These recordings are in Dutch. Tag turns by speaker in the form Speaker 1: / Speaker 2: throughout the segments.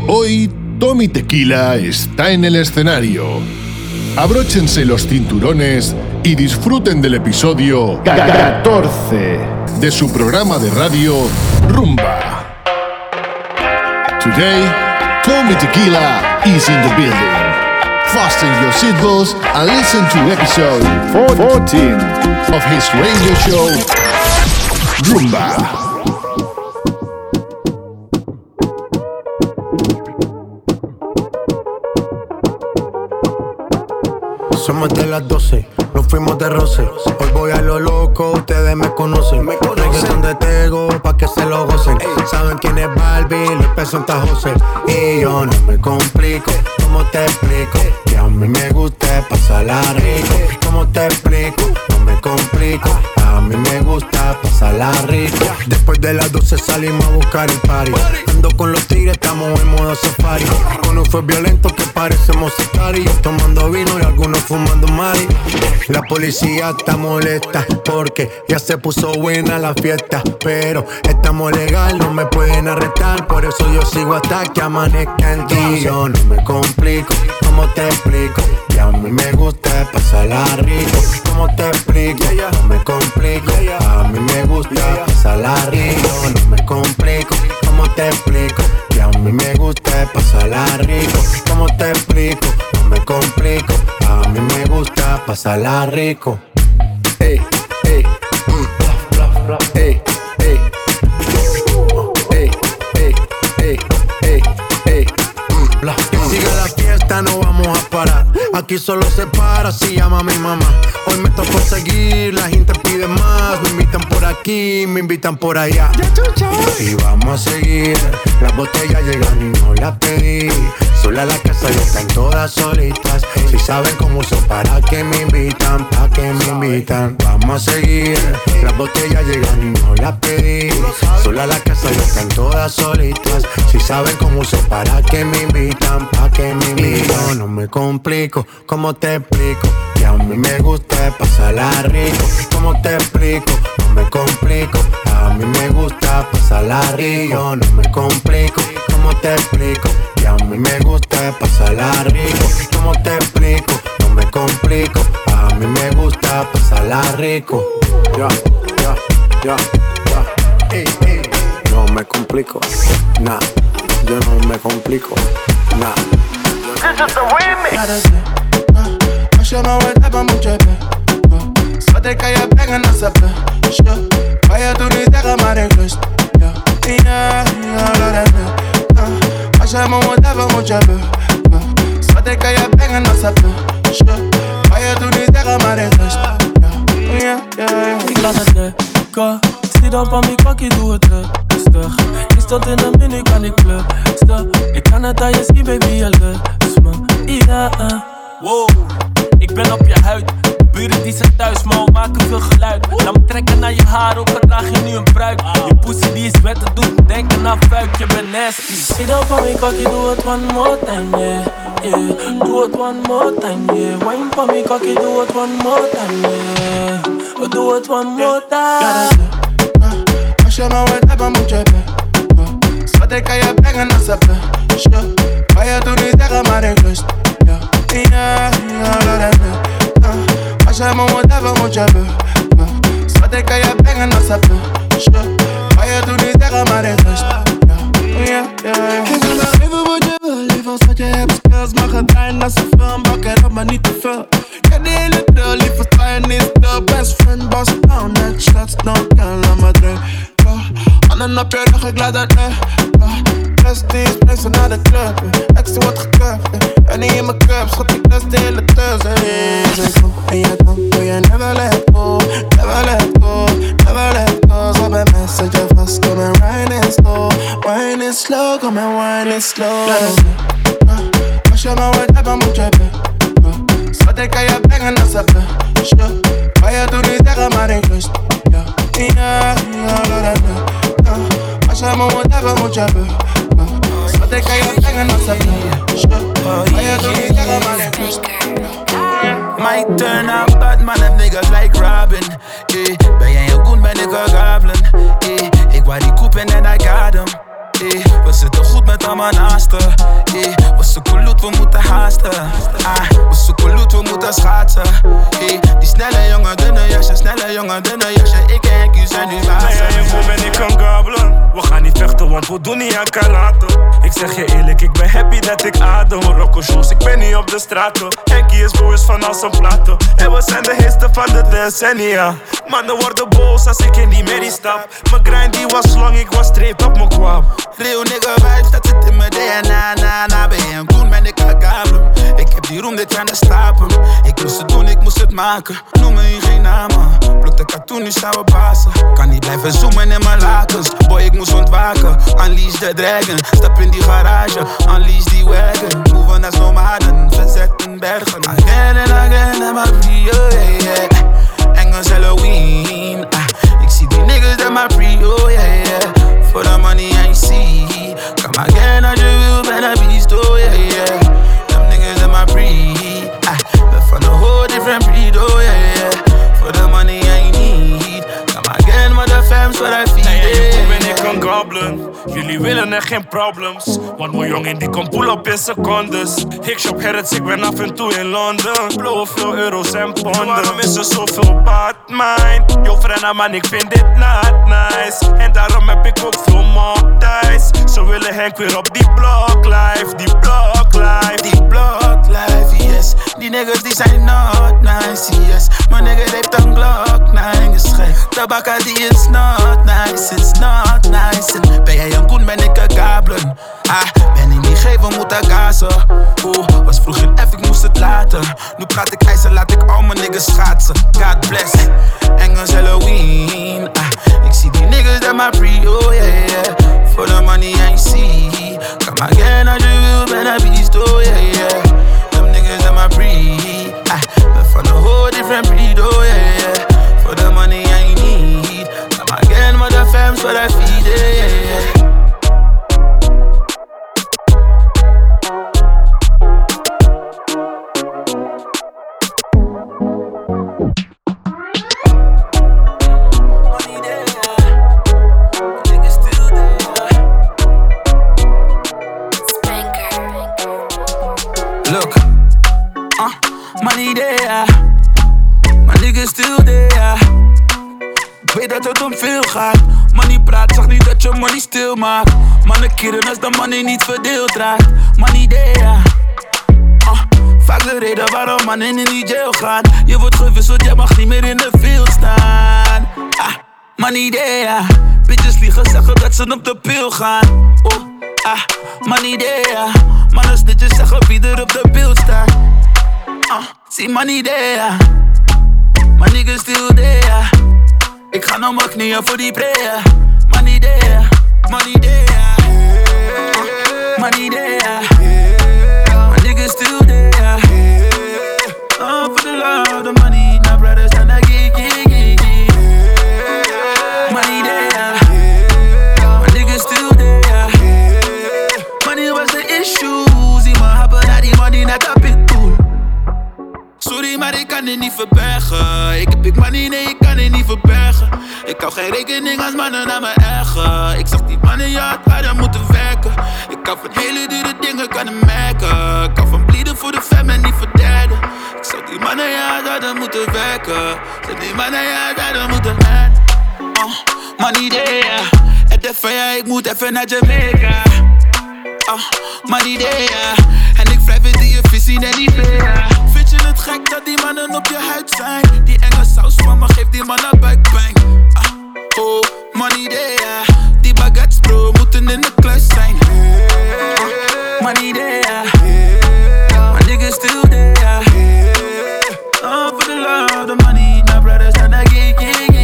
Speaker 1: Hoy, Tommy Tequila está en el escenario. Abróchense los cinturones y disfruten del episodio 14 de su programa de radio Rumba. Today, Tommy Tequila is in the building. Fasten your seatbelts and listen to episode 14 of his radio show Rumba.
Speaker 2: Somos de las 12, nos fuimos de roce. Hoy voy a lo loco, ustedes me conocen. Reggaeton de Tego, pa' que se lo gocen. Saben quién es Barbie, los pesos en José. Y yo no me complico, ¿cómo te explico? Que a mí me gusta pasarla rico. ¿Cómo te explico? No me complico, a mí me gusta pasarla rico. Después de las 12 salimos a buscar el party. Ando con los tigres, estamos en modo safari. Con un fue violento que parecemos sicarios. Tomando vino y algunos fumando mari. La policía está molesta porque ya se puso buena la fiesta. Pero estamos legal, no me pueden arrestar. Por eso yo sigo hasta que amanezca en ti. Yo no me complico, ¿cómo te explico? Que a mí me gusta pasarla rico. ¿Cómo te explico? No me complico, a mí me gusta pasarla rico. No me complico, ¿cómo te explico? Que a mí me gusta pasarla rico. ¿Cómo te explico? No me complico, a mí me gusta pasarla rico. Ey, ey, ey, ey, ey, ey, ey, ey, ey. Que siga la fiesta, no vamos a parar. Aquí solo se para si llama a mi mamá. Hoy me tocó seguir, la gente pide más. Me invitan por aquí, me invitan por allá. Y vamos a seguir. Las botellas llegan y no las pedí. Sola la casa y están todas solitas. Si saben cómo son, para que me invitan, pa' que me invitan. Vamos a seguir. Las botellas llegan y no las pedí. Sola la casa y están todas solitas. Si saben cómo son, para que me invitan, pa' que me invitan. No me complico, ¿cómo te explico? Que a mí me gusta pasarla rico. ¿Cómo te explico? No me complico, a mí me gusta pasarla rico. No me complico, ¿cómo te explico? Que a mí me gusta pasarla rico. ¿Cómo te explico? No me complico, a mí me gusta pasarla rico. Ya, ya, ya, ya. Ey, ey. No me complico, nah. Yo no me complico, nah.
Speaker 3: This is the remix.
Speaker 4: Als je me wilt hebben moet je Schat ik kan je brengen als ze kan je toen niet zeggen maar ik lust. Ja, dat is als je me wilt hebben moet je Schat ik kan je brengen als ze kan je toen niet zeggen maar ik lust.
Speaker 5: Ik laat het lekker. Zie dan van mijn kakkie, doe het rustig. Je stond in een menu, kan ik blusten. Ik kan het aan je zien, baby, je lust me. Ja, wow, ik ben op je huid. Buren die zijn thuis, maar we maken veel geluid. Laat me trekken naar je haar, ook al draag je nu een pruik. Je pussy die is wet, het doet me denken aan fuik, je bent nasty. Zie dan van mijn kakkie, doe het one more time, yeah, yeah. Doe het one more time, yeah. Wine van mijn kakkie, doe het one more time, yeah. Doe het one more time.
Speaker 4: Als je me wilt hebben moet je Schat ik kan je brengen als ze kan je toen niet zeggen maar ik lust. Ja, dat is als je me wilt hebben moet je Schat ik kan je brengen als ze kan je toen niet zeggen maar ik lust. Ik wil nog even wat je wil, liever schat je hebt skills. Maar ga draaien als een film, bak het op maar niet te veel. Ken die hele drill, liever sta je niet stil. Best friend, boss down, net shots, don't kill, laat me drinken. Handen op je rug, ik laat het Prestige, spring ze naar de club. Exie wordt gekuft, en niet in mijn cup. Schat, ik lust de hele tussen. Zeg kom, en je dan doe je never let go. Never let go, never let go. Zo bij mij zet je vast, kom en wine is slow. Wine is slow, kom en wine is slow. Als je me wilt hebben moet je Schat, ik kan je brengen als ze kan je toen niet zeggen maar ik lust. Ja, dat is als je me wilt hebben moet je Schat ik kan je brengen als ze kan je toen niet zeggen maar ik lust.
Speaker 6: My turn up, bad man have niggas like Robin. Ben jij heel goed, ben ik een goblin. Ik wou die coupe en I got hem. We zitten goed met al mijn naasten. We zoeken loot, we moeten haasten. We zoeken loot, we moeten schaatsen. Die snelle jongen, dunne jasje, snelle jongen, dunne jasje. Ik en Q zijn nu bazen.
Speaker 5: Nee, jij en ben ik kan gabelen. We gaan niet vechten, want we doen niet aan karate. Ik zeg je eerlijk, ik ben happy dat ik adem. Rocco shows, ik ben niet op de straten. Henkie is boos van al zijn platen. En we zijn de heerste van de decennia. Mannen worden boos als ik in die merrie stap. Mijn grind die was lang, ik was straight op mijn kwam.
Speaker 6: Real nigga vibes, dat zit in mijn DNA. Ben je een koen, ben ik een gabelen. Ik heb die roem dit jaar de stapel. Ik moest het doen, ik moest het maken. Noem me hier geen namen. Pluk de katoen, nu staan we bazen. Kan niet blijven zoomen in mijn lakens. Boy, ik moest ontwaken. Unleash the dragon. Stap in die garage. Unleash die wagon. Moven als nomaden. Verzetten bergen. Again and again, en maar prio, yeah. Engels Halloween. Ik zie die niggas dat maar prio, yeah. For the money I see. Come again als je wil, ben een beast, oh yeah. Them niggas in my breed. But from a whole different breed, oh yeah. For the money I need. Come again, maar de fams wat I feed.
Speaker 5: Hey, ben ik een goblin. Jullie willen er geen problems. Want mijn jongen die komt pull op in secondes. Ik shop Harrods, ik ben af en toe in Londen. Blowen veel euro's en ponden. Waarom is er zoveel bad mind? Yo vrienden man, ik vind dit not nice. En daarom heb ik ook veel mokties. Ze willen Henk weer op die block life. Die block life.
Speaker 6: Die block life, yes. Die niggas die zijn not nice, yes. Mijn nigga heeft een Glock 9 geschreven. Tabakka die is not nice, it's not nice. En ben jij een koen, ben ik een gabelen. Ben in die geven, moet ik gazen. Was vroeger F, ik moest het laten. Nu praat ik ijzer, laat ik al mijn niggas schaatsen. God bless, Engels Halloween. Ik zie die niggas dat maar prio, yeah. For the money I see. Come again als je wil, ben een beast, oh yeah. Them niggas that my breed. But from a whole different breed, oh yeah. For the money I need. Come again, but the fams what I feed, yeah. Look, money there, my niggas still there. Ik weet dat het om veel gaat. Money praat, zag niet dat je money stil maakt. Mannen keren als de money niet verdeeld raakt. Money there, vaak de reden waarom mannen in die jail gaan. Je wordt gewisseld, je mag niet meer in de field staan. Money there, bitches liegen, zeggen dat ze op de pil gaan. Money there, mannen snitjes zeggen wie er op de beeld staat. See money there, my niggas still there. Ik ga naar mijn knieën voor die prayer. Money there, money there, money there. My niggas still there. For the love, the money, my brothers and I get. Money there, my niggas still there. Money was the issue. Zie me hebben naar die money net een pitbull. Sorry, maar ik kan het niet verbergen. Ik heb big money, nee, ik kan het niet verbergen. Ik hou geen rekening als mannen naar me erger. Ik zag die mannen, ja, het hadden moeten werken. Ik kan van hele dure dingen, kan het merken. Ik kan van blieden voor de fam en niet voor derden. Ik zag die mannen, ja, het hadden moeten werken. Zag die mannen, ja, het hadden moeten werken. Money there. Het even, ja, ik moet even naar Jamaica. Money there. En ik wrijf het in je visie en niet meer. Vind je het gek dat die mannen op je huid zijn? Die enge saus van me geeft die mannen buikpijn. Money there. Die baguettes bro, moeten in de kluis zijn. Money there. My niggas still there. For the love, the money, my brothers and I get.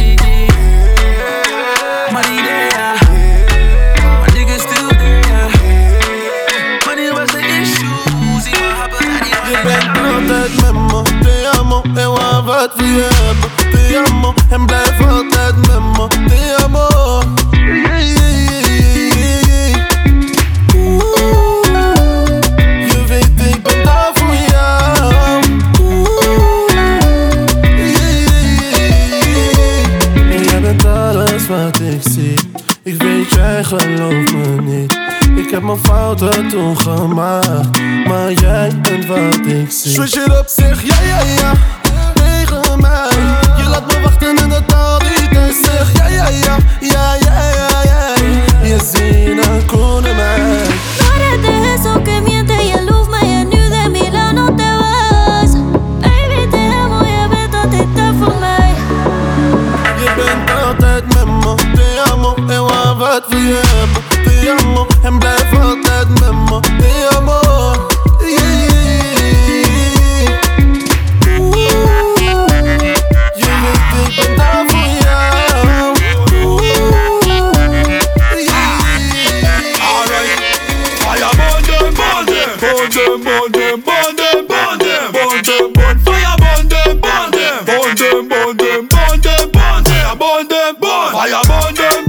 Speaker 6: Money there. My niggas still there. Money was the issue. Zie me hebben naar die.
Speaker 7: Je bent altijd met me, te amo. En waar wat we hebben, te amo. En blijf altijd met me, te amo. Je weet ik ben daar voor jou. En jij bent alles wat ik zie. Ik weet jij gelooft geloof me niet. Ik heb mijn fouten toen gemaakt, maar jij bent wat ik zie. Switch it up, zeg ja tegen mij. Je laat me wachten in de taal die tijd. Zeg ja. Je ziet een koene mij.
Speaker 8: No eres de eso que miente y el luz me y nu de mi lado no te vas. Baby te amo, je bent altijd voor mij.
Speaker 7: Je bent altijd met me, te amo. En waar wat wil je hebben, te amo. En blijf altijd met me, te amo. Je weet ik ben daar voor jou.
Speaker 6: Alright. Fire burn them. Burn them. Fire burn them. Fire burn them.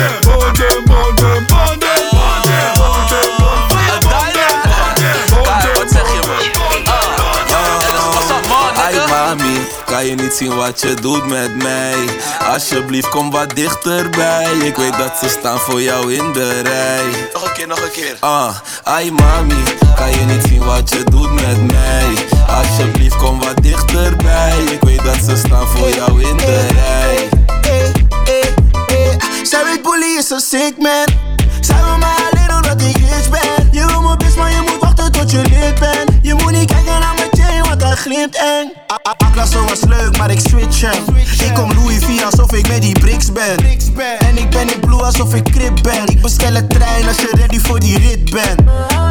Speaker 9: Kan je niet zien wat je doet met mij? Alsjeblieft kom wat dichterbij. Ik weet dat ze staan voor jou in de rij. Nog een keer. Ai mami, kan je niet zien wat je doet met mij? Alsjeblieft kom wat dichterbij. Ik weet dat ze staan voor jou in de rij.
Speaker 10: Zij weet bully is een sick man. Zij wil mij alleen omdat ik rich ben. Je wil me best maar je moet wachten tot je lid bent. Je moet niet kijken naar mijn chain want dat glimt eng. Aklasso was leuk maar ik switch hem. Ik kom Louis V alsof ik met die bricks ben. En ik ben in blue alsof ik crip ben. Ik bestel een trein als je ready voor die rit bent.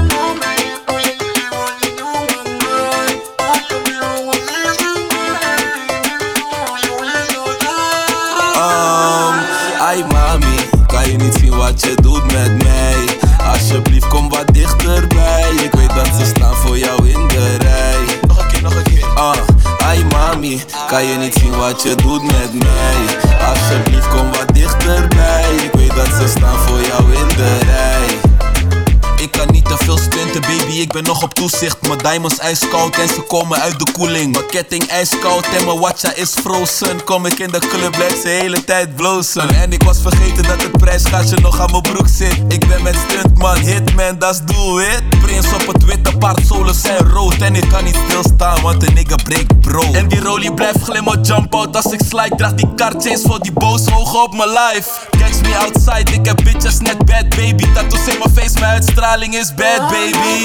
Speaker 9: Ai mami, kan je niet zien wat je doet met mij? Alsjeblieft kom wat dichterbij. Ik weet dat ze staan voor jou in de rij. Nog een keer. Ai mami, kan je niet zien wat je doet met mij? Alsjeblieft kom wat dichterbij. Ik weet dat ze staan voor jou in de rij. Ik kan niet te veel stunten baby, ik ben nog op toezicht. Mijn diamonds ijskoud en ze komen uit de koeling. Mijn ketting ijskoud en mijn watcha is frozen. Kom ik in de club, blijf ze de hele tijd blozen. En ik was vergeten dat het prijsgaatje nog aan mijn broek zit. Ik ben met stuntman, hitman, that's do it. Prins op het witte paard, zolen zijn rood. En ik kan niet stilstaan, want een nigga breekt bro. En die rollie blijft glimmen, jump out als ik slide. Draag die kaartjes voor die boze ogen op mijn life. Catch me outside, ik heb bitches net bad baby. Tattoos in mijn face, mijn uitstraling is bad baby.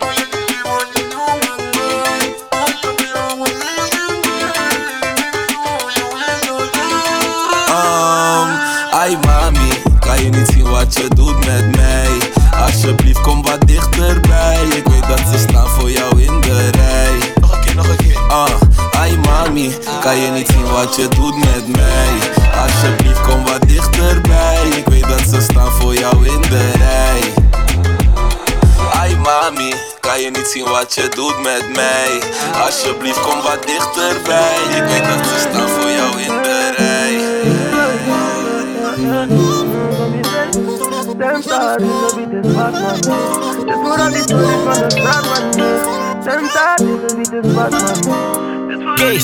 Speaker 9: Ai mami, kan je niet zien wat je doet met mij? Alsjeblieft kom wat dichterbij. Ik weet dat ze staan voor jou in de rij. Nog een keer. Ai mami, kan je niet zien wat je doet met mij? Alsjeblieft kom wat dichterbij. Ik weet dat ze staan voor jou in de rij. Ai mami, kan je niet zien wat je doet met mij? Alsjeblieft kom wat dichterbij. Ik weet dat ze staan voor jou in de rij.
Speaker 11: Kees.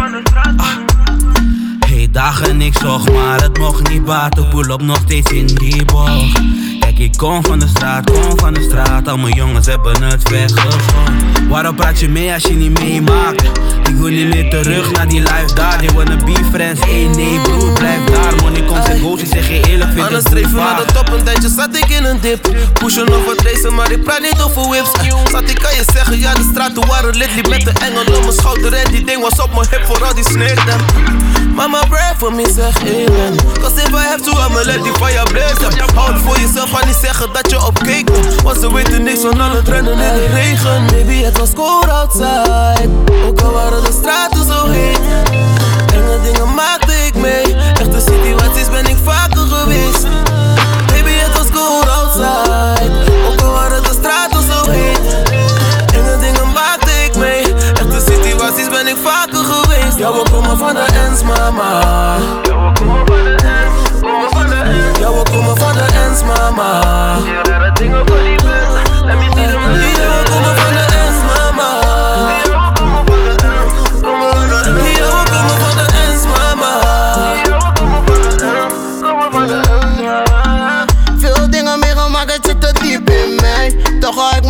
Speaker 11: Hey, dagen ik zocht, maar het mocht niet baten. Pull op nog steeds in die bocht. Kijk, ik kom van de straat. Al mijn jongens hebben het weggezocht. Waarom praat je mee als je niet meemaakt? Ik wil niet meer terug naar die life daar. They wanna be friends, nee broer, blijf daar. Money komt en goes, ik zeg je eerlijk, vind het streven naar de top, een tijdje zat ik in een dip. Pushen nog wat racen, maar ik praat niet over whips. Zat ik kan je zeggen, ja de straten waren lit. Liep met de engel op mijn schouder en die ding was op mijn hip voor al die snake. Mama pray for me, zeg amen. Cause if I have to, I'ma let die fire blaze. Houd voor jezelf, ga niet zeggen dat je op cake bent. Want ze weten niks van al het rennen in de regen. Baby, het was cold outside. Ook al waren de straten zo heet. Enge dingen maakte ik mee. Echte situaties ben ik vaker geweest. Baby, het was cold outside. Ook al waren de straten zo heet. Enge dingen maakte ik mee. Echte situaties ben ik vaker geweest. Ja, we komen van de ends, mama. Ja, we komen van de ends. Ja, we komen van de ends, mama. Ja, rare dingen voor die bus. Let me see them. Ja, we komen van de ends, mama. Ja, we komen van de ends.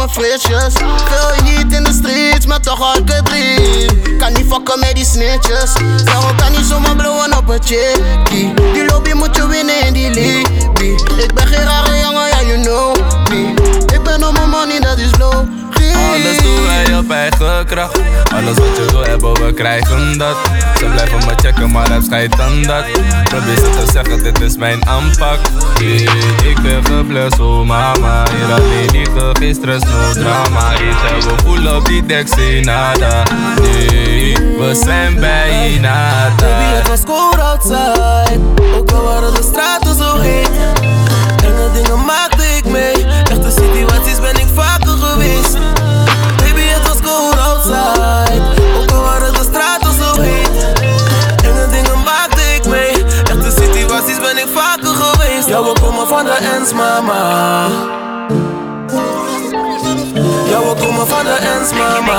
Speaker 10: mijn flitsjes. Veel heat in de streets, maar toch had ik het lief. Kan niet fucken met die snitches. Daarom kan niet zomaar blowen op een chickie. Die lobby moet je winnen in die league. Ik ben geen rare jongen, ja you know me. Ik ben op mijn money, dat is low.
Speaker 12: Alles doen wij op eigen kracht. Alles wat je wil hebben, we krijgen dat. Ze blijven me checken, maar het schijnt aan dat. Probeer ze te zeggen, dit is mijn aanpak. Ik ben geblest, oh mama. Hier alleen liggen, geen stress, no drama. Ik zeg, we voelen op die dek, zie nada. Nee, we zijn bijna daar.
Speaker 7: Baby, het was cold outside. Ook al waren de straten zo heet. Enge dingen maakte ik mee. Echte situaties ben ik vaker geweest. Baby, het was cold outside. Ook al waren de straten zo heet. Enge dingen maakte ik mee. Echte situaties ben ik vaker geweest. Ja, we komen van de ends, mama. Ja, we komen van de ends, mama.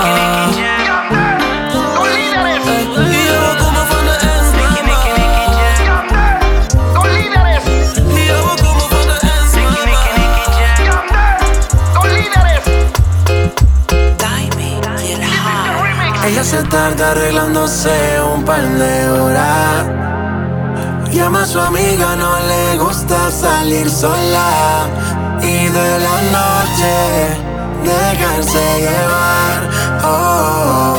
Speaker 13: Ella se tarda arreglándose un par de horas. Llama a su amiga, no le gusta salir sola. Y de la noche dejarse llevar. Oh.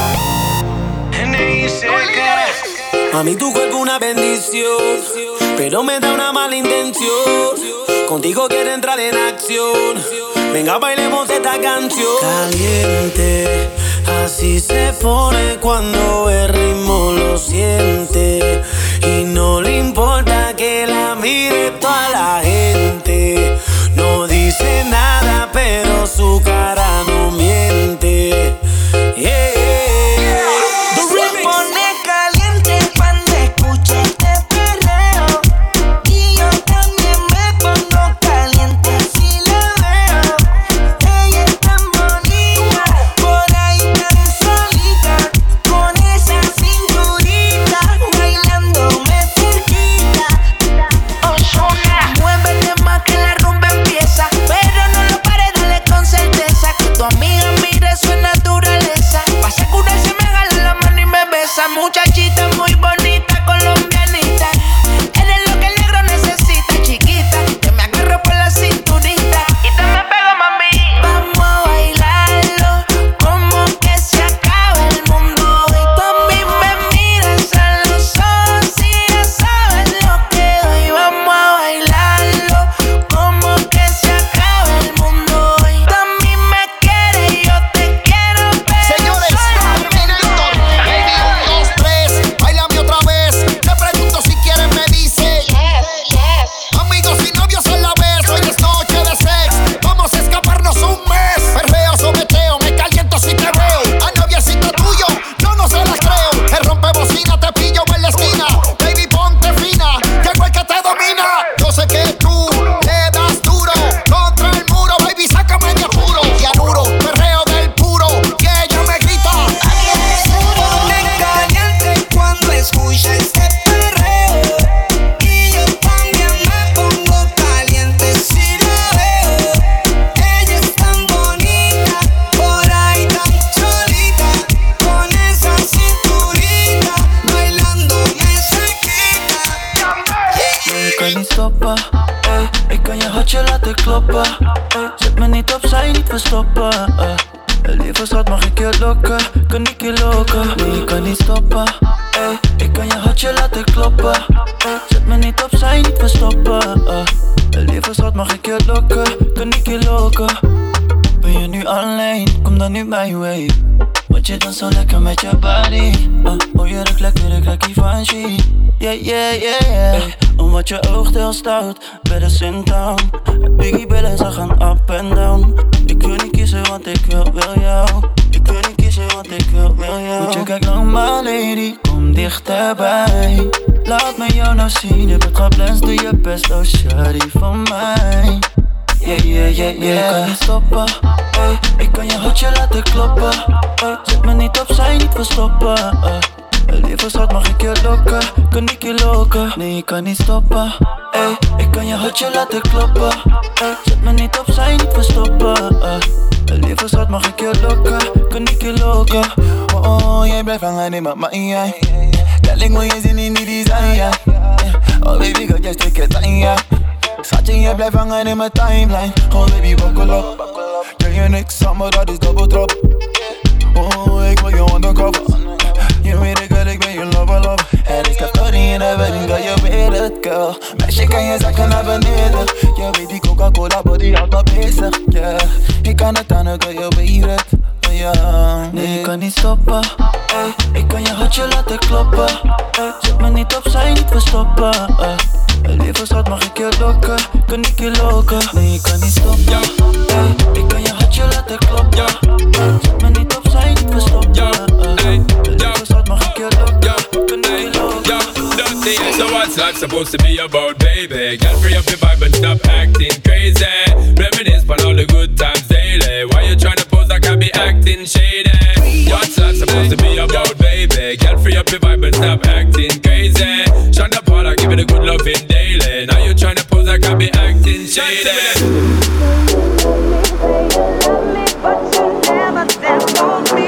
Speaker 14: Mami, tu cuerpo una bendición, pero me da una mala intención. Contigo quiero entrar en acción. Venga, bailemos esta canción.
Speaker 13: Caliente, así se pone cuando el ritmo lo siente. Y no le importa que la mire toda la gente. No dice nada, pero su cara no miente. Yeah.
Speaker 15: Muchachita muy bonita, colombianita. Eres lo que el negro necesita, chiquita. Que me agarro por la cinturita y te me pego, mami. Vamos a bailarlo, como que se acaba el mundo. Y tú a mí me miras a los ojos y ya sabes lo que doy. Vamos a bailarlo, como que se acaba el mundo. Y tú a mí me quieres y yo te quiero, pero
Speaker 10: señores, bailame otra vez. Te pregunto si quieres, me dice yes. Amigos y novios a la vez. Hoy es noche de sex. Vamos a escaparnos un mes. Perreo, sobeteo, me caliento si te veo. A noviecito tuyo, yo no se las creo. Te rompe bocina, te pillo en la esquina. Baby, ponte fina, llegó el que te domina. Yo sé que tú le das duro contra el muro. Baby, sácame de apuro. Cianuro, perreo del puro. Que ella me grita.
Speaker 15: Escucha este perreo y yo también me pongo caliente si la veo. Ella es tan bonita, por ahí tan solita, con esa cinturita, bailando me se quita.
Speaker 13: Ik kan niet stoppen, ey. Ik kan je hartje laten kloppen, ey. Zet me niet opzij, niet verstoppen, lieve schat, mag ik je lokken? Kan ik je lokken? Nee, ik kan niet stoppen, ey. Ik kan je hartje laten kloppen, ey. Zet me niet opzij, niet verstoppen, lieve schat, mag ik je lokken? Kan ik je lokken? Ben je nu alleen? Kom dan nu mijn way. Want je danst zo lekker met je body. Oh, je ruikt lekker, ik ruik Givenchy. Yeah, yeah, yeah, yeah. Hey, omdat je oogt heel stout, bedders in town. Biggie billen, ze gaan up and down. Ik wil niet kiezen, want ik wil jou. Ik wil niet kiezen, want ik wil jou. Want je kijkt naar my lady, kom dichterbij. Laat me jou nou zien, je bent geblest, doe je best, oh shawty van mij. Yeah, yeah, yeah, yeah. Ik kan niet stoppen, ey. Ik kan je hartje laten kloppen, ey. Zet me niet opzij, niet verstoppen, lieve schat, mag ik je lokken? Kan ik je lokken? Nee, ik kan niet stoppen, ey. Ik kan je hartje laten kloppen, ey. Zet me niet opzij, niet verstoppen, vangen in mijn mind. Darling, moet je zin in die design, ja. Oh baby, girl, jij stikt aan, ja. Schatje, jij blijft hangen in mijn timeline. Oh baby, buckle up. Jij je niks aan, maar dat is double trap. Oh, ik wil je undercover. Je weet ik wel, ik ben je lover. En ik heb Tony in de wedding, girl, je weet het, girl. Meisje, kan je zakken naar beneden. Je weet die Coca-Cola body houdt me bezig, yeah. Ik kan het aan, girl, je weet het, yeah.
Speaker 14: Nee, ik kan niet stoppen, ey. Ik kan je hartje laten kloppen, ey. Zet me niet opzij, niet verstoppen, ey. Lieve schat, mag ik je lokken? Kan ik je lokken? Nee, ik kan niet stoppen, ey. Ik kan je hartje laten kloppen, ey. Zet me niet opzij, niet verstoppen, ey. Lieve schat, mag ik je lokken? Kan ik je lokken?
Speaker 16: So what's life supposed to be about, baby? Girl, free up your vibe and stop acting crazy. Reminisce on all the good times daily. Why you tryna pose like I be acting shady? What's life supposed to be about, baby? Girl, free up your vibe and stop acting crazy. Shonda Paula, give it a good loving daily. Now you tryna pose like I be acting shady.
Speaker 15: But you never stand for me.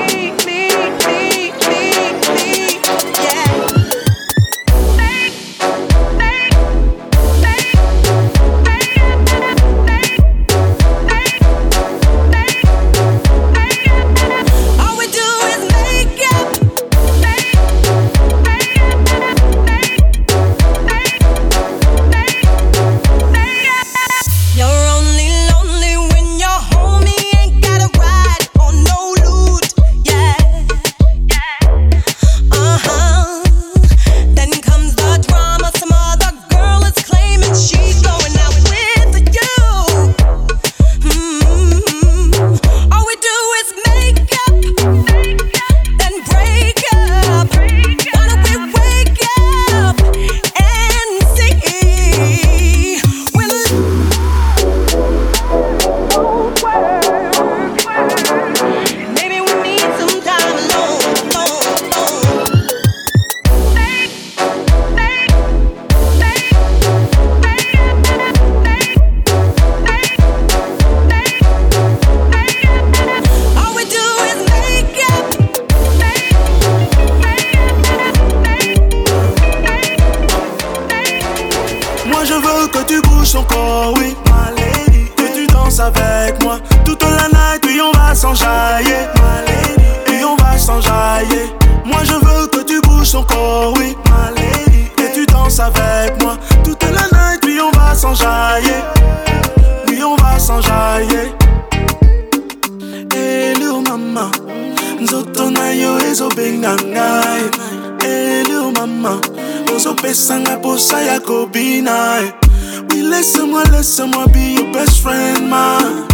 Speaker 4: Laisse-moi be your best friend, man.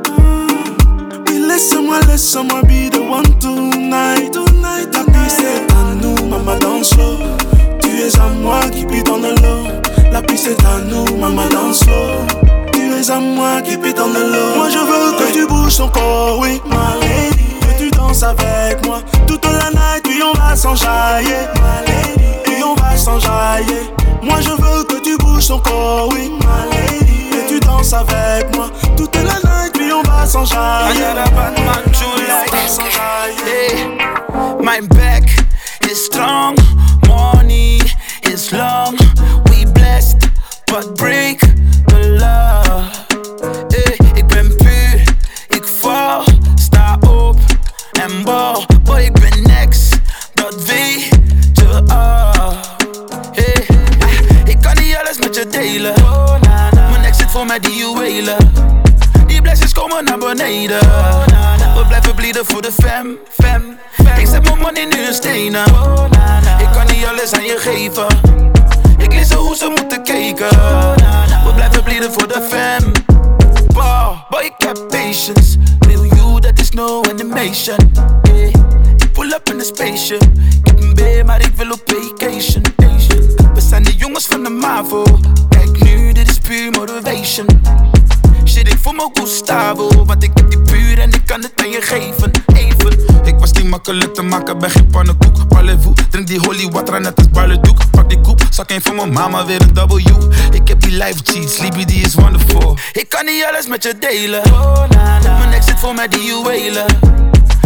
Speaker 4: Laisse-moi be the one tonight. La piste est à nous, maman danse slow. Tu es à moi, keep it on the low. La piste est à nous, maman danse slow. Tu es à moi, keep it on the low. Moi je veux que tu bouges ton corps, oui, ma lady. Que tu danses avec moi toute la night, puis on va s'enjailler, ma lady. Puis on va s'enjailler. Moi je veux que tu bouges ton corps, oui, ma lady. Que tu danses avec moi toute la night, puis on va s'enjailler.
Speaker 6: I got a bad man too like hey. My back is strong, money is long. We blessed, but break the law. Hey, ik ben puur, ik val, sta op en bal. Boy, ik ben next, dat weet je al. Hey, ik kan niet alles met je delen. Mijn ex zit voor mij die juwelen. Die blessings komen naar beneden. We blijven bleeden voor de fam. Ik zet mijn money nu in stenen. Ik kan niet alles aan je geven. Ik lees hoe ze moeten kijken. We blijven bleeden voor de fam. Boy, ik heb patience. Real you, that is no animation. Yeah. Ik pull up in een spaceship. Ik heb een B, maar ik wil op vacation. We zijn de jongens van de MAVO. Kijk nu, dit is puur motivation. Shit, ik voel me Gustavo, want ik heb die puur en ik kan het aan je geven. Even, ik was niet makkelijk te maken, ben geen pannenkoek. Parlez-vous, drink die holy water net als barledoek. Pak die koep, zak een van mijn mama, weer een W. Ik heb die life cheats, Sleepy die is wonderful. Ik kan niet alles met je delen. Mijn ex zit voor mij die juwelen.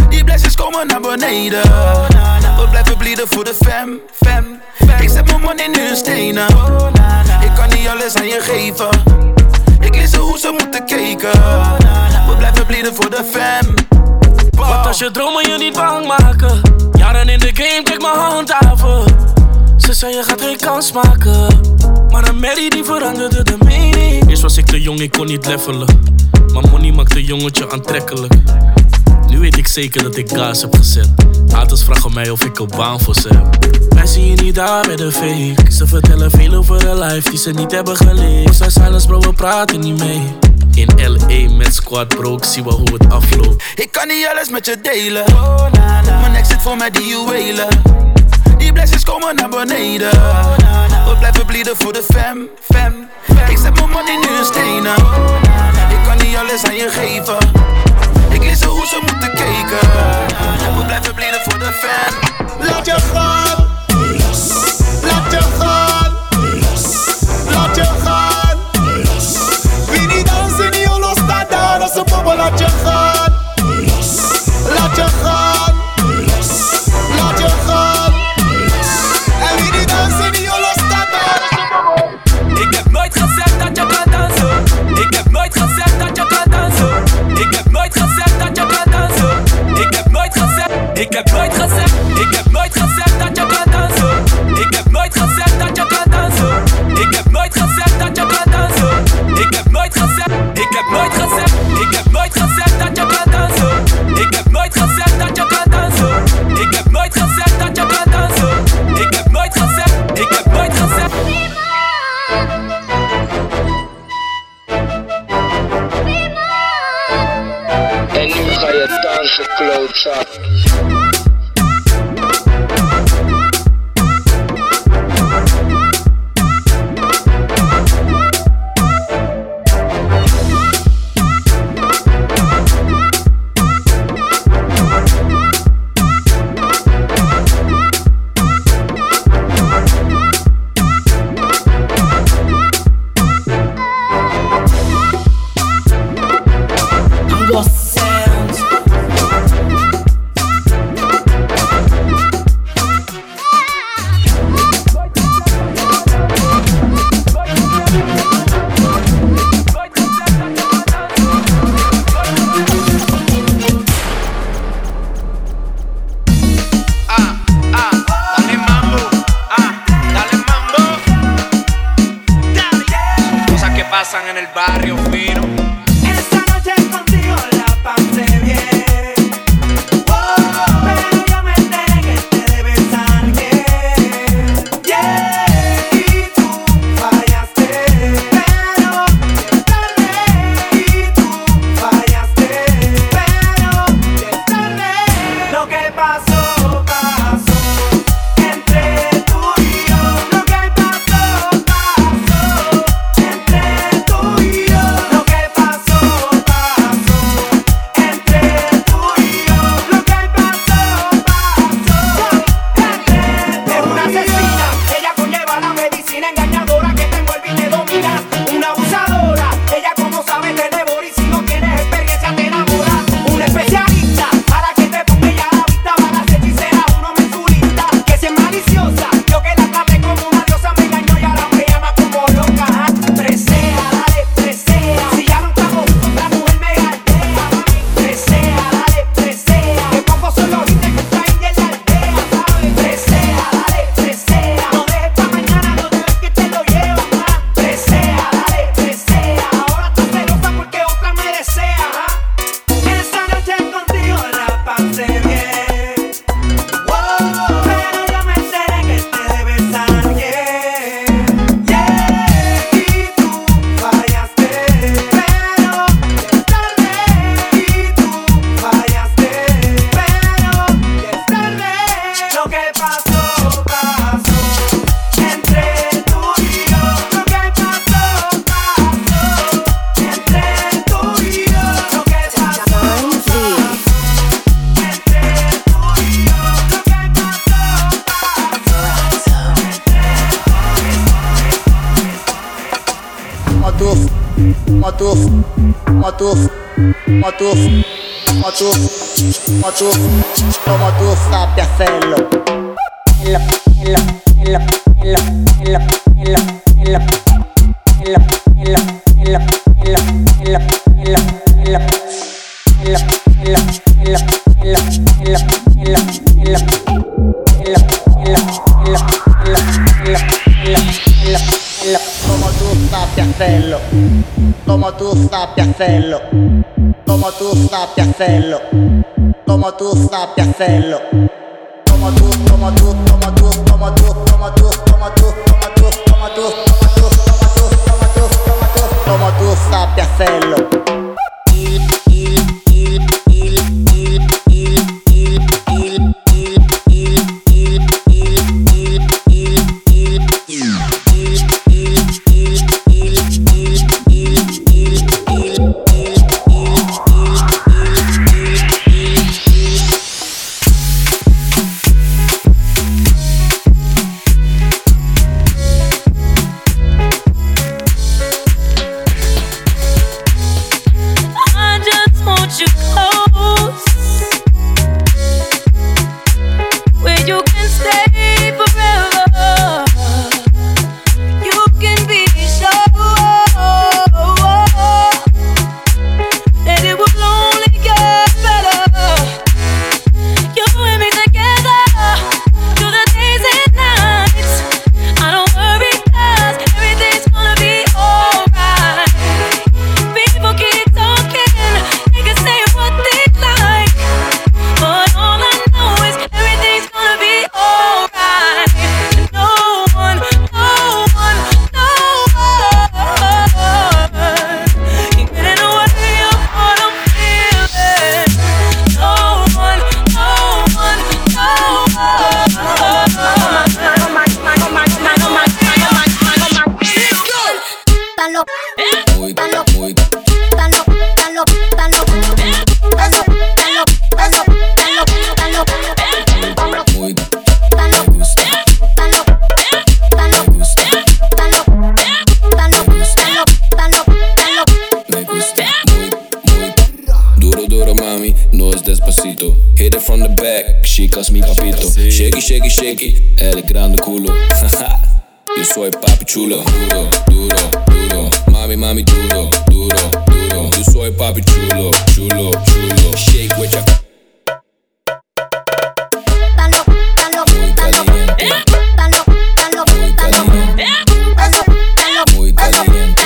Speaker 6: Die blessings komen naar beneden. We blijven blieden voor de fam. Ik zet mijn money in hun stenen. Ik kan niet alles aan je geven. Ik lees ze hoe ze moeten kijken. We blijven blieden voor de fam.
Speaker 5: Wat als je dromen je niet bang maken? Jaren in de game, kijk mijn handhaven. Ze zei je gaat geen kans maken. Maar een Mary die veranderde de mening. Eerst was ik te jong, ik kon niet levelen. Maar money maakt een jongetje aantrekkelijk. Nu weet ik zeker dat ik gas heb gezet. Haters vragen mij of ik een baan voor ze heb. Wij zien je niet daar bij de fake. Ze vertellen veel over een life die ze niet hebben geleefd. We zijn silence bro, we praten niet mee. In L.A. met squad bro, ik zie wel hoe het afloopt.
Speaker 6: Ik kan niet alles met je delen. Mijn nek zit vol met die juwelen. Die blessings komen naar beneden. We blijven blieden voor de fam. Ik zet mijn money in hun stenen. Ik kan niet alles aan je geven. Ik lees ze hoe ze moeten kijken. We blijven blieden voor de fam.
Speaker 10: Laat je gaan. Laat je gaan. Laat je gaan. Wie niet dansen, die holo staat daar als een bobbel. Laat je gaan. Laat je gaan. Laat je gaan. En wie niet dansen, die holo staat daar als een bobbel.
Speaker 5: Ik heb nooit gezegd dat je kan dansen. Ik heb nooit gezegd dat je kan dansen. Ik heb nooit gezegd dat je kan dansen. Ik heb nooit gezegd. Ik heb nooit gezegd. Ik heb nooit gezegd dat je kan dansen. Ik heb nooit gezegd dat je kan dansen. Ik heb nooit gezegd dat je kan dansen. Ik heb nooit gezegd. Ik heb nooit gezegd. Ik heb nooit gezegd dat je kan dansen. Ik heb nooit gezegd dat je kan dansen. Ik heb nooit gezegd dat je kan dansen. Ik heb nooit gezegd. Ik heb nooit gezegd.
Speaker 17: En nu ga je dansen, klootzak. Pasan en el barrio fino.
Speaker 10: Esta noche contigo la pasé bien. Oh, pero yo me enteré que te debes a alguien. Yeah, y tú fallaste, pero ya es tarde. Y tú fallaste, pero ya es tarde. Lo que pasó, pasó entre tú y yo. Lo que pasó, pasó entre tú y yo. Lo que pasó, pasó entre tú y yo. Lo que pasó, pasó entre. Es una asesina, ella conlleva la medicina engañadora que te envuelve y te domina. Una abusadora, ella como sabe te devora y si no tienes experiencia te enamora. Una especialista, para que te ponga ya la vista, para las hechiceras uno mensurista. Que si es maliciosa, yo que la traté como una diosa me engañó y ahora me llama como loca. Presea, dale, presea. Si ya no estamos juntos, otra mujer me galdea. Presea, dale, presea. Que pocos son los hits que traen en la aldea, ¿sabes? Presea, dale, presea. No dejes pa' mañana, no te ves que te lo llevas más. Presea, dale, presea. Ahora estás celosa porque otra me desea. Esta noche contigo la pasé bien. Wow, pero yo me enteré que te debes a alguien. Yeah, y tú fallaste, pero ya es tarde. Y tú fallaste, pero ya es tarde. Lo que pasó, pasó entre tú y yo. Lo que pasó, pasó entre tú y yo. Lo que pasó, pasó entre tú y yo. Lo que
Speaker 2: Matuf, matuf, matuf, matuf.
Speaker 18: como tú sabes hacerlo. Como tú sabes hacerlo, como tú sabes hacerlo, como tú sabes hacerlo, como tú sabes hacerlo, como tú, como tú, como tú, como tú, como tú, como tú, como tú, como tú, como tú sabes hacerlo.
Speaker 19: Shaky, el grande culo. Yo soy papi chulo. Duro, duro, duro. Mami, mami, duro, duro, duro. Yo soy papi chulo, chulo, chulo. Shake with ya. Muy caliente. Muy caliente. Muy caliente.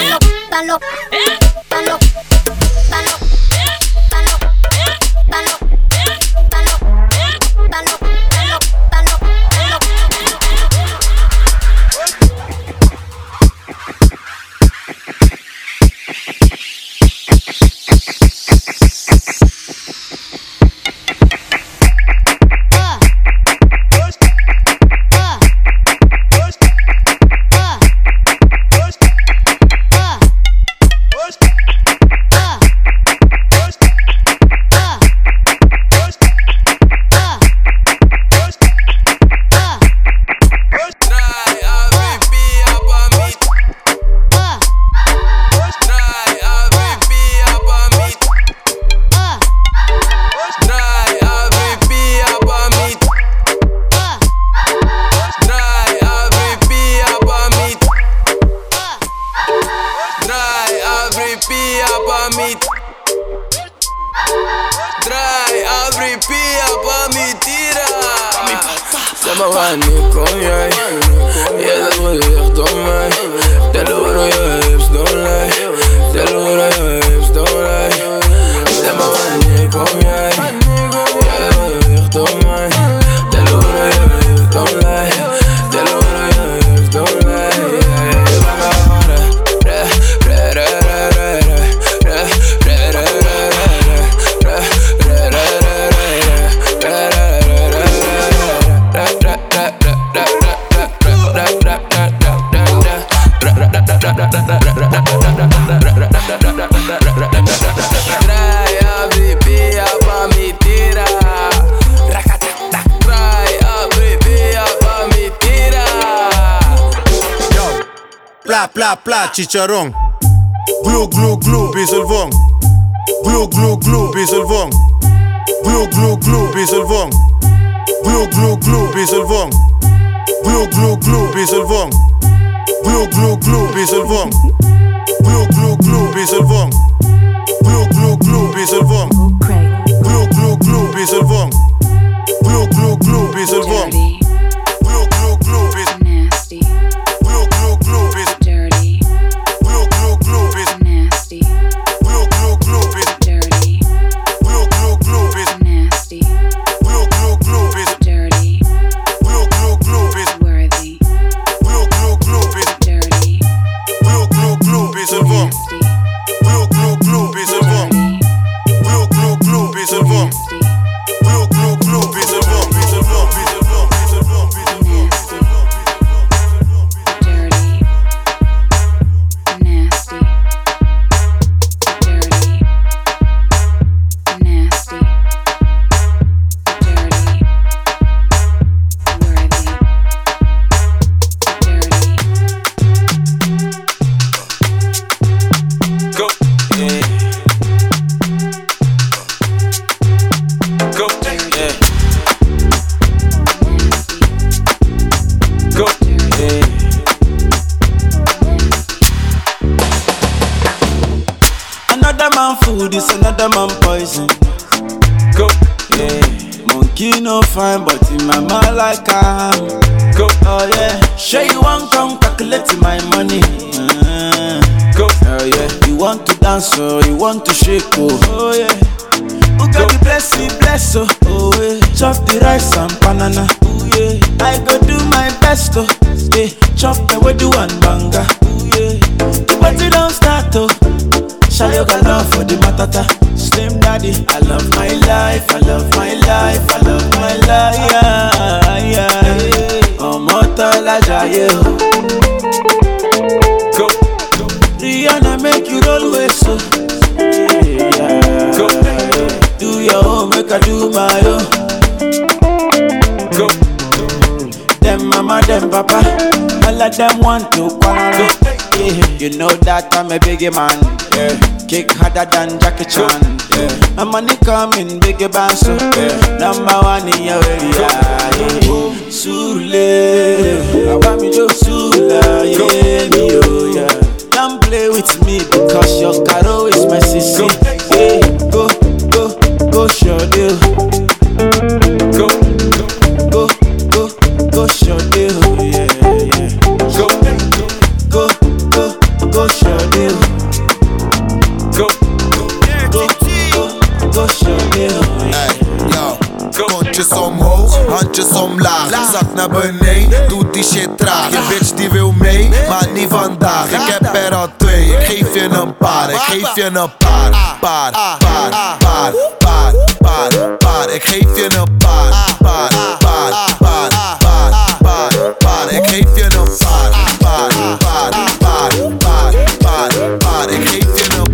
Speaker 20: Pla, pla, pla, chicharrón. Glu, glu, glu, biselvón. Glu, glu, glu, Pieselwong. Glu, glu, glu, Pieselwong. Glu, glu, glu, Pieselwong. Glu, glu, glu, Pieselwong. Glu, glu, glu, Pieselwong. Glu, glu, glu, Pieselwong. Glu, glu, glu, Pieselwong. Glu, glu, glu, Pieselwong. Glu, glu, glu, Pieselwong. Glu, glu, glu,
Speaker 21: nasty.
Speaker 20: Glu, glu, glu,
Speaker 21: dirty.
Speaker 20: Glu, glu, glu,
Speaker 21: nasty.
Speaker 20: Glu, glu, glu,
Speaker 21: dirty.
Speaker 20: Glu, glu, glu,
Speaker 21: nasty.
Speaker 20: Glu, glu, glu,
Speaker 21: dirty.
Speaker 20: Glu, glu, glu,
Speaker 21: worthy.
Speaker 20: Glu, glu, glu,
Speaker 21: dirty.
Speaker 20: Glu, glu, glu, Pieselwong. Glu, glu, glu, Pieselwong. Glu, glu, glu, Pieselwong. Glu, glu, glu, Pieselwong. Pieselwong, Pieselwong, Pieselwong, Pieselwong.
Speaker 21: Dirty. Nasty. Dirty. Nasty. Dirty. Worthy. Dirty.
Speaker 9: Go, yeah. Go, yeah. Go, yeah.
Speaker 6: Another man food is another man poison.
Speaker 9: Go,
Speaker 6: yeah. Monkey no fine, but in my mind like I am.
Speaker 9: Go,
Speaker 6: oh yeah. Sure you want come calculate my money.
Speaker 9: Go,
Speaker 6: oh yeah. You want to dance or you want to shake oh yeah. Who got the bless me bless oh yeah. Chop the rice and banana oh yeah. I go do my best oh yeah. Chop the wedu and banga oh yeah. The party don't start oh. Shayo got love for the matata. Slim daddy, I love my life, I love my life, I love my life. Yeah, yeah. Omotola jaye.
Speaker 9: Go.
Speaker 6: Rihanna make you roll with so. Yeah.
Speaker 9: Go.
Speaker 6: Do your own, make I do my own.
Speaker 9: Go.
Speaker 6: Them mama, them papa, all of them want to quarrel. Yeah. You know that I'm a biggie man. Yeah. Kick harder than Jackie Chan. Yeah. My money coming, biggie band so. Yeah. Number one in your area. Yeah. Sule, I want me to Sula. Yeah, me oh yeah. Don't play with me because your caro is my sissy. Yeah. Go, go, go, show deal.
Speaker 9: Go,
Speaker 6: go, go, go, show deal. Yeah, yeah.
Speaker 9: Go,
Speaker 6: go, go, go, show deal.
Speaker 9: Go,
Speaker 6: go, go, go, show deal.
Speaker 22: Hey, yo. Kontjes omhoog, handjes omlaag. Zak naar beneden, doet die shit traag. Je bitch die wil mee, maar niet vandaag. Ik heb er al twee, ik geef je een paar. Ik geef je een paar. Ik geef je een paar. Ik geef je een paar. Ik geef je een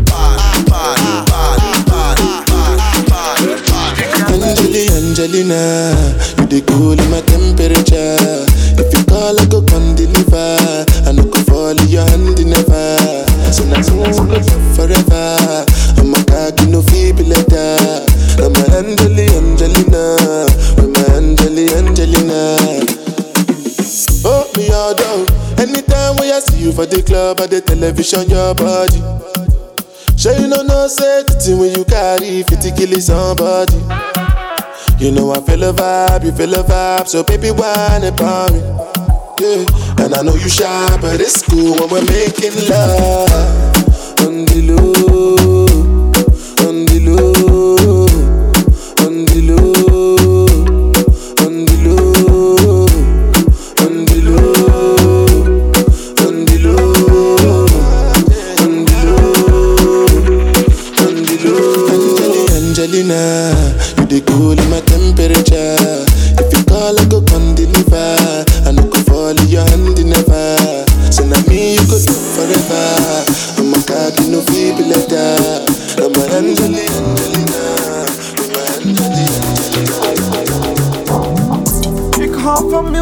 Speaker 7: Angelina, you the cool in my temperature. If you call, I go come deliver. I no go fall in your hand never. So now forever. I'm a cocky no feeble letter. I'm a Angelina. I'm a Angelina. Oh me all down. Anytime when I see you for the club or the television, your body. Sure you know say the thing when you carry 50 kill somebody. You know I feel a vibe, you feel a vibe, so baby whine about me. Yeah, and I know you shy, but it's cool when we're making love. On the low, on the low, on the low, on the low, on the low, on the low, on the low, on the low. Angelina, you the cool in my temperature. If you call, I go come deliver. I no go fall in your hand never. So now me you go do forever. I'm a cocky no feeble letter. I'm a Angelina.
Speaker 6: Ik hou van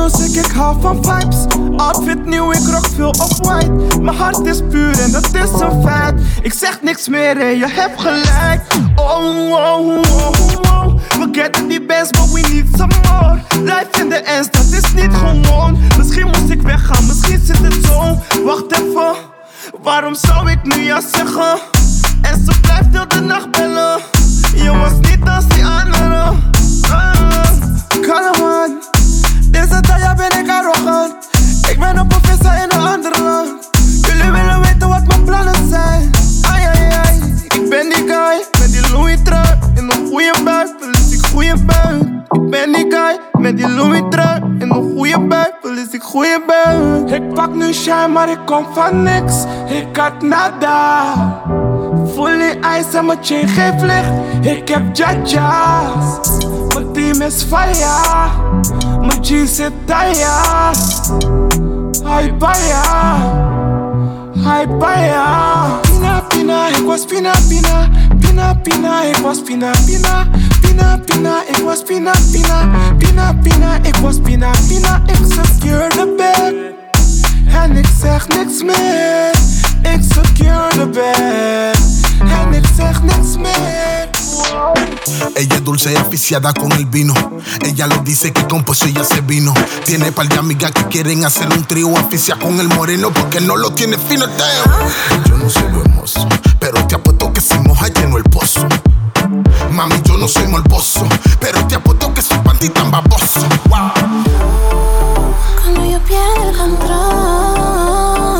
Speaker 4: music, ik hou van vibes. Outfit nieuw, ik rock veel off-white. Mijn hart is puur en dat is een feit. Ik zeg niks meer en je hebt gelijk. Oh, oh, oh, oh. We getting die best, but we need some more. Life in the ends, dat is niet gewoon. Misschien moest ik weggaan, misschien zit het zo. Wacht even, waarom zou ik nu ja zeggen? En ze blijft heel de nacht bellen. Je was niet als die anderen. Kalman, deze dag ben ik arrogant. Ik ben op een visa in een ander land. Jullie willen weten wat mijn plannen zijn. Ai, ai, ai. Ik ben die guy met die Louis trui in een goede buik, verlies ik goede buik. Ik ben die guy met die Louis trui in een goede buik, verlies ik goede buik. Ik pak nu shine, maar ik kom van niks. Ik had nada. Fully ice en mijn chain geeft licht. Ik heb jaja's. Mijn team is fire. Mijn G zit daar. Hi baya. Hi baya. Pina pina, ik was pina pina. Pina pina, ik was pina pina. Pina pina, ik was pina pina. Pina pina, ik was pina pina. Ik secure the bag. En ik zeg niks meer. Ik secure the bag. En ik zeg niks meer.
Speaker 1: Ella es dulce y aficiada con el vino. Ella le dice que con pozo ella se vino. Tiene par de amigas que quieren hacer un trío. Aficia con el moreno porque no lo tiene fino. Yo no soy lo hermoso, pero te apuesto que si moja lleno el pozo. Mami, yo no soy morboso, pero te apuesto que soy panty tan baboso. Wow.
Speaker 8: Cuando yo pierdo el control,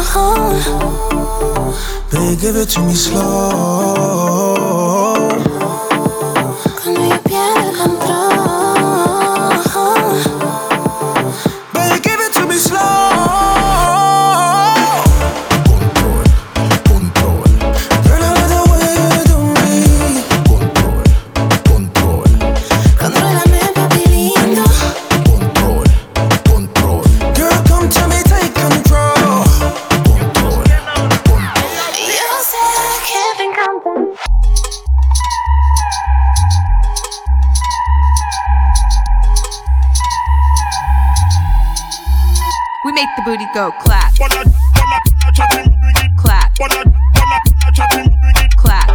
Speaker 10: baby, give it to me slow.
Speaker 8: Cuando yo pierdo el control,
Speaker 10: baby, give it to me slow. Control. Girl, I love the way you do me. Control.
Speaker 8: contrólame, papi lindo.
Speaker 10: Control. Girl, come to me, take control.
Speaker 8: Yo sé que te encanta.
Speaker 3: We make the booty go clap. Clap. Clap.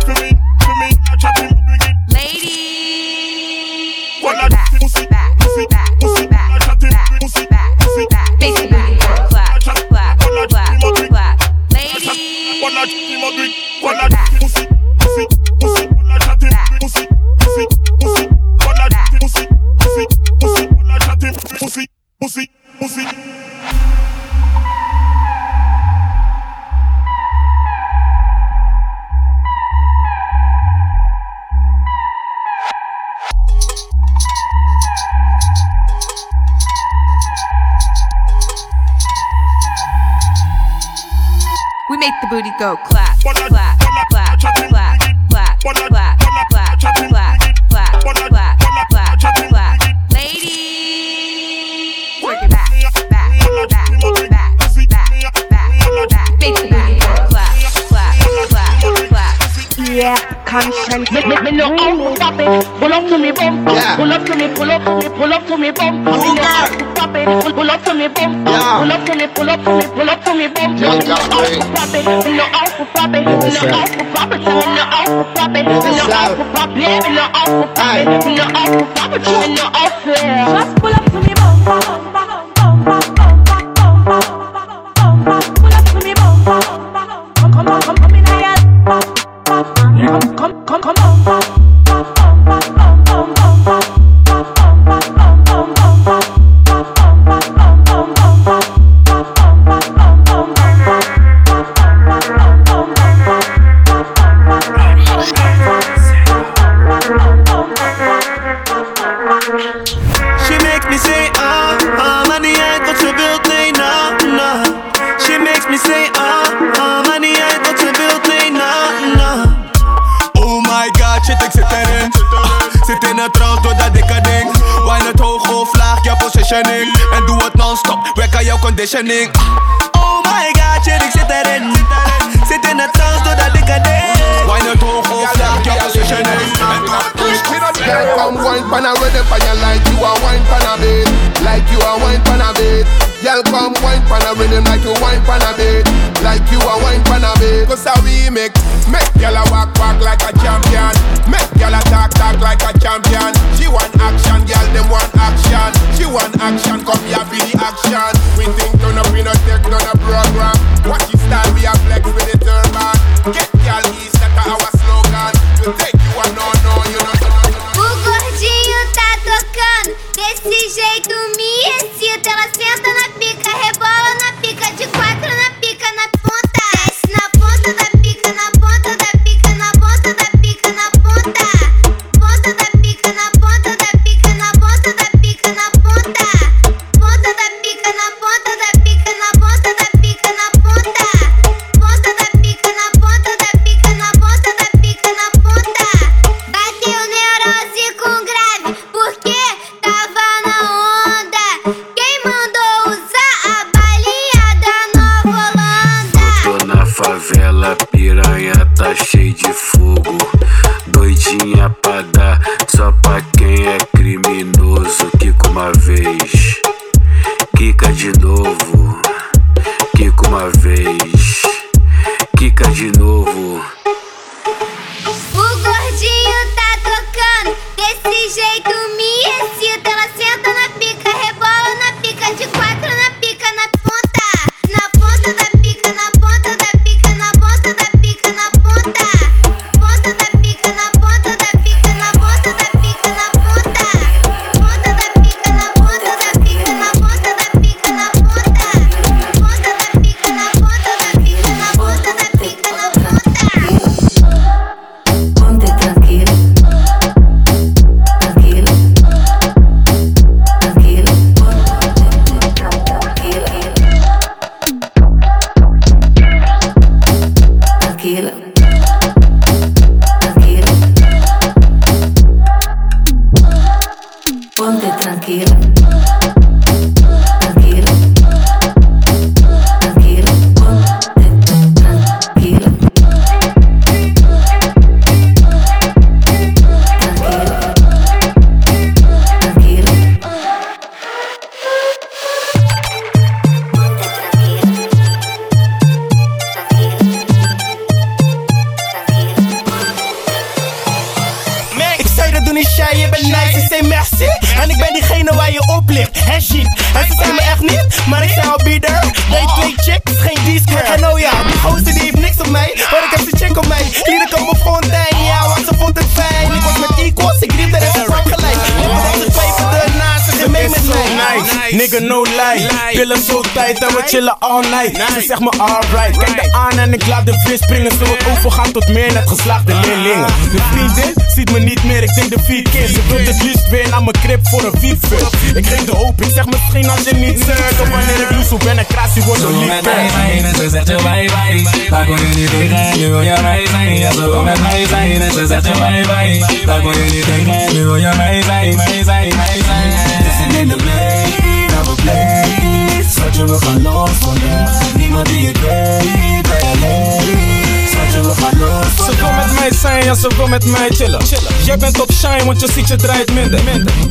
Speaker 3: Ladies. Back. Face the booty go clap. Clap. Ladies.
Speaker 20: Pussy.
Speaker 3: We make the booty go clap. Clap. Ladies. Work it back. Face the booty go clap.
Speaker 23: Yeah, conscience. Me know how to stop it. Pull up to me bum. Pull up to me bum. Me know how to stop it. Pull up to me bum. Pull up to me bum. Me know how to stop it. Me know how to stop it. Me know how to stop it. Me know how to stop it. Me know how to stop it. Me know how to stop it. Me know how to stop it. Me know how to. Just pull up to me bum. Pull up to me bum. Come in here. Come on.
Speaker 10: She makes me say maar niet uit wat ze wilt, nee, na. She makes me say maar niet uit wat ze wilt, nee, na. Oh my god, shit, ik zit erin. Zit in een trance door dat dikke ding. Wine het hoog of laag, jouw positioning. En doe het non-stop, werk aan jouw conditioning. Oh my god, shit, ik zit erin. Zit in een trance door dat dikke ding. Wine het hoog of laag, jouw positioning. En doe het non-stop.
Speaker 11: wine pan a ready for you like you a wine pan a bed. Like you a wine pan a bed. Y'all come wine pan a rhythm like you wine pan a bed. Like you a wine pan a bed. Cause a remix, make y'all a walk like a champion. Make y'all a talk like a champion. She want action, y'all them want action. She want action, come here for the action. We think turn up, we no take none a program. Watch your style, we a flex with the turban. Get y'all east, that's our slogan. We take you a no, you know.
Speaker 8: O gordinho tá tocando, desse jeito me excita. Ela senta na pica, rebola na pica, de quatro na pica, na ponta. Desce na ponta da pica, na ponta da pica, na ponta da pica, na ponta. Ponta da pica, na ponta da pica, na ponta da pica, na ponta. Ponta da pica, na ponta da pica, na ponta da pica, na ponta. Ponta da pica, na ponta da pica, na ponta da pica, na ponta. Bateu neurose com grave, porque tava na onda. Quem mandou usar a balinha da Nova Holanda?
Speaker 19: Tô na favela, piranha tá cheio de fogo. Doidinha pra dar, só pra quem é criminoso. Quica uma vez, quica de novo. Quica uma vez, quica de novo.
Speaker 8: O gordinho tá tocando, desse jeito me excita. Ela senta na pica, rebola na pica, de quatro na pica, na ponta. Na ponta da pica, na ponta da pica, na ponta da pica, na ponta. Ponta da pica, na ponta da pica, na ponta da pica, na ponta. Ponta da pica, na ponta da pica, na ponta da pica, na ponta. Ponta da pica, na ponta da pica, na ponta da pica, na ponta.
Speaker 12: Ponte tranquilo, tranquilo, tranquilo, tranquilo, tranquilo, ponte tranquilo, tranquilo, tranquilo, ponte tranquilo.
Speaker 13: Ik zei dat doe niet shy, je bent nice, ik zei merci. En ik ben diegene waar je op ligt, hè shit. En ze zei me echt niet, maar ik zei al be there. Nee, twee chicks, geen D-square. En oh ja, die gozer die heeft niks op mij, maar ik heb zijn chick op mij. Lieden komen fontein, ja, want ze vond het fijn. Ik was met equals, ik riep er even van gelijk. Maar dat ze twijfelde naast, ze ging mee met mij.
Speaker 5: Nigga no lie, pillen zo tight en we chillen all night. Ze zegt me alright, kijk de aan en ik laat de vis springen. Zo het overgaan tot meer net geslaagde leerlingen. De vriendin ziet me niet meer, ik denk de 4 keer. Ze wil het liefst weer naar mijn crib voor een fietsfut. Ik geef de hoop, ik zeg misschien als je niet zegt. Of wanneer ik loes op ben en krasie wordt een liefde.
Speaker 24: En ze zegt je bye bye, daar kon je niet tegen, nu wil je mij zijn. Ja, ze wil met mij zijn en ze zegt je bye bye, daar kon je niet tegen, nu wil je mij zijn, mij zijn, mij zijn. Listen in the plane, have a place. Schatje, we gaan los vandaag, niemand die het weet, bij alleen. Schatje, we gaan los vandaag.
Speaker 5: Ze wil met mij zijn, ja, ze wil met mij chillen. Jij bent op shine, want je ziet je draait minder.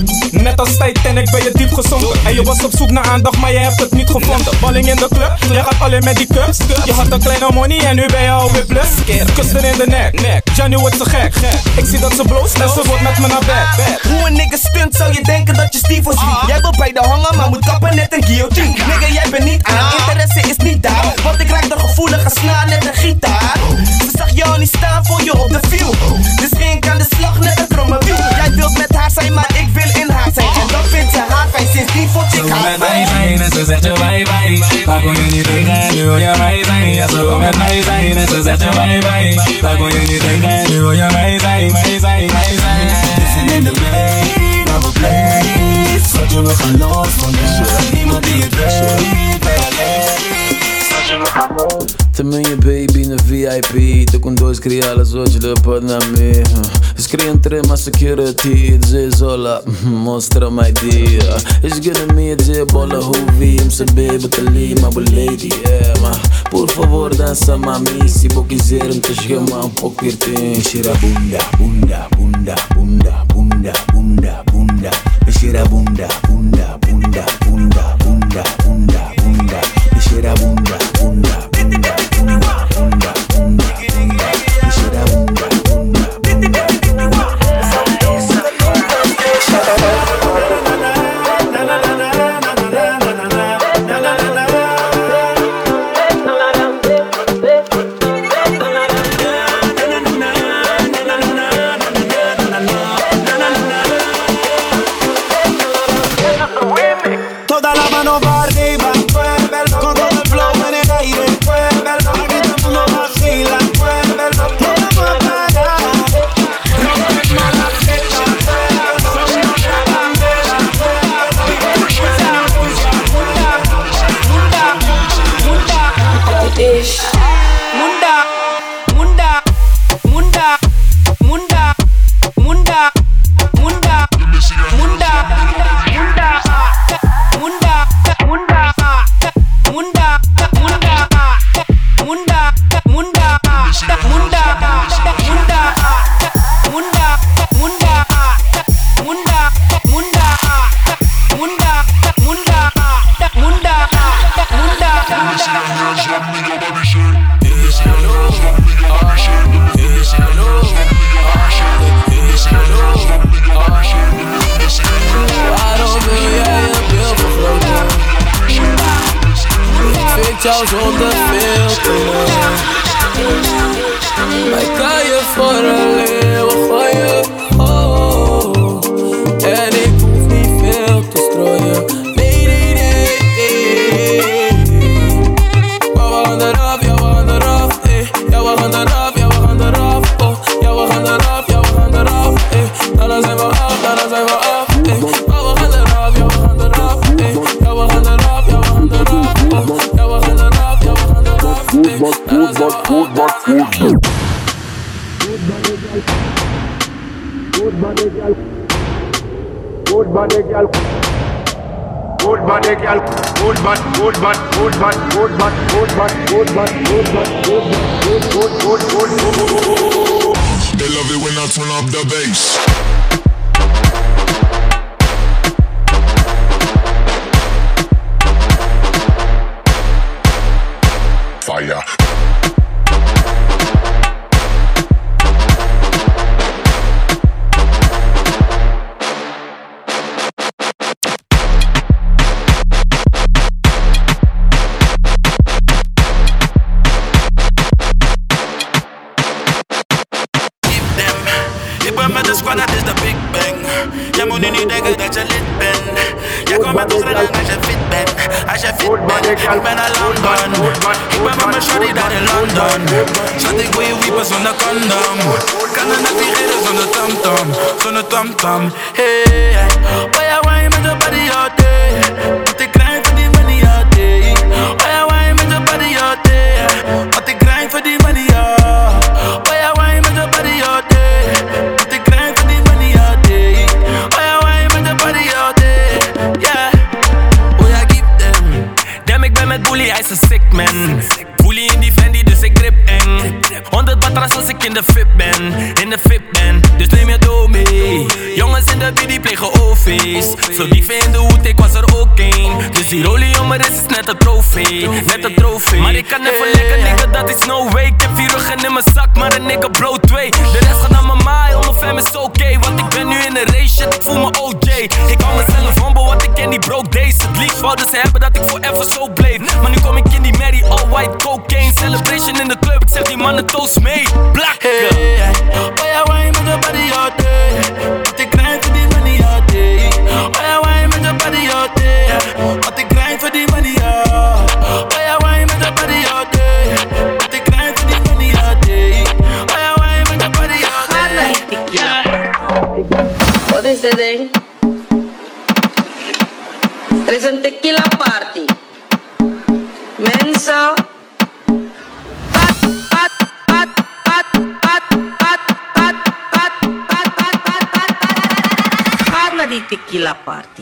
Speaker 5: Net als tijd en ik ben je diep gezonken. En je was op zoek naar aandacht, maar je hebt het niet gevonden. Balling in de club, jij gaat alleen met die cups. Je had een kleine money en nu ben je alweer plus. Kus er in de nek, Johnny wordt zo gek. Ik zie dat ze bloost en ze wordt met me naar bed.
Speaker 13: Hoe een nigga stunt zou je denken dat je Steve was lief. Jij wil bij de hangen, maar moet kappen net een guillotine. Nigga, jij bent niet aan, interesse is niet daar. Want ik raak de gevoelige snaar net een gitaar. Ze zag jou niet staan voor je op de view. Dus ging ik aan de slag net een kromme wiel. Jij wilt met haar zijn, maar ik wil in haar zijn. En dat vindt ze haar fijn, sindsdien vond ik haar fijn.
Speaker 24: En ze zegt je bye bye, daar kon je niet tegen, nu wil je mij zijn. Ja, ze wil met mij zijn en ze zegt je bye bye, daar kon je niet tegen, nu wil je mij zijn, mij zijn, mij zijn. Listen in the lane, have a place. Schatje, we gaan los vandaag, niemand die het weet, bij alleen. Schatje, we gaan los.
Speaker 19: Também a baby na VIP. Tô com 2 criadas hoje de Panamá. Eles queriam ter mais security. Diz olá, mostra my dia. Eles querem me dizer bola ruvi. Me saber batalha, my lady, yeah, ma. Por favor, dança mami. Se vou quiser, me te chamar pouco pertinho. Cheira bunda, bunda, bunda, bunda, bunda, bunda.
Speaker 6: Quisiera bunda, bunda, bunda, bunda, bunda, bunda, bunda. Quisiera bunda, bunda, bunda, bunda, bunda, bunda, bunda. Quisiera bunda, bunda, bunda, bunda.
Speaker 13: Toda la mano va arriba, muévelo, con todo el flow en el aire, muévelo, aquí todo el mundo vacila, muévelo, no vamos a parar, no es mala fecha, son una bandera,
Speaker 5: jou zonder filter. Wij kan je voor een leeuw gooien, oh. En ik hoef niet veel te strooien. Nee, nee, nee, nee. Maar we gaan eraf, ja we gaan eraf, eh. Ja we gaan eraf, ja we gaan eraf, oh. Ja we gaan eraf, ja we gaan eraf, eh. Dan zijn we af, dan zijn we af, eh. Maar we gaan eraf, ja we gaan eraf, eh. Ja we gaan eraf, ja we gaan eraf, oh. Ja we gaan eraf, ja we gaan eraf, eh. Dan zijn we af.
Speaker 14: Good body girl. Good body girl. Good body girl. Good body, good body, good body, good body, good body, good body, good body, good, good.
Speaker 15: They love it when I turn up the bass. Fire.
Speaker 6: Dat is de Big Bang. Je moet nu niet denken dat je lid bent. Jij komt met ons rennen als je fit bent. Als je fit bent, ik ben naar London. Ik ben met mijn shorty daar in London. Schat, ik wil je wiepen zonder condom. Kan er net figeren zonder tamtam. Zonder tamtam. Hey, hey. Oh ja, why met je body all day. Wat ik grind voor die money all day. Oh ja, why met je body all day. Wat ik grind voor die money all. Oh ja, why met je body all day.
Speaker 5: Met Bully, hij is een sick man. Bully in die Fendi, dus ik grip eng. 100 batras als ik in de fit ben. In de fit ben, dus neem je dough mee. Jongens in de BD plegen OV's. Veel dieven in de hoed, ik was er ook een. Dus die rolie om mijn wrist is net een trofee. Net een trofee. Maar ik kan even lekker, nigga, dat is no way. Ik heb 4 ruggen in mijn zak, maar een nigga blow 2. De rest gaat naar mijn maai, on fam is oké. Want ik ben nu in een race, shit, ik voel me OJ. Ik hou mezelf humble, want ik ken die broke days. Het liefst wouden ze hebben dat ik forever zo bleef. Maar nu kom ik in die Mary, all white cocaine. Celebration in de club, ik zeg die mannen toast mee. Blakken.
Speaker 6: Hey, hey. Oh ja, why met je body all day. Wat ik grind voor die money all day. Oh ja, why met je body all day. Wat ik grind voor die money all. Oh ja, why met je body all day. Wat ik grind voor die money all day. Oh ja, why met je body all day.
Speaker 16: Wat is dit ding? Er is een tequila party. Mensen. Ga naar die tequila party.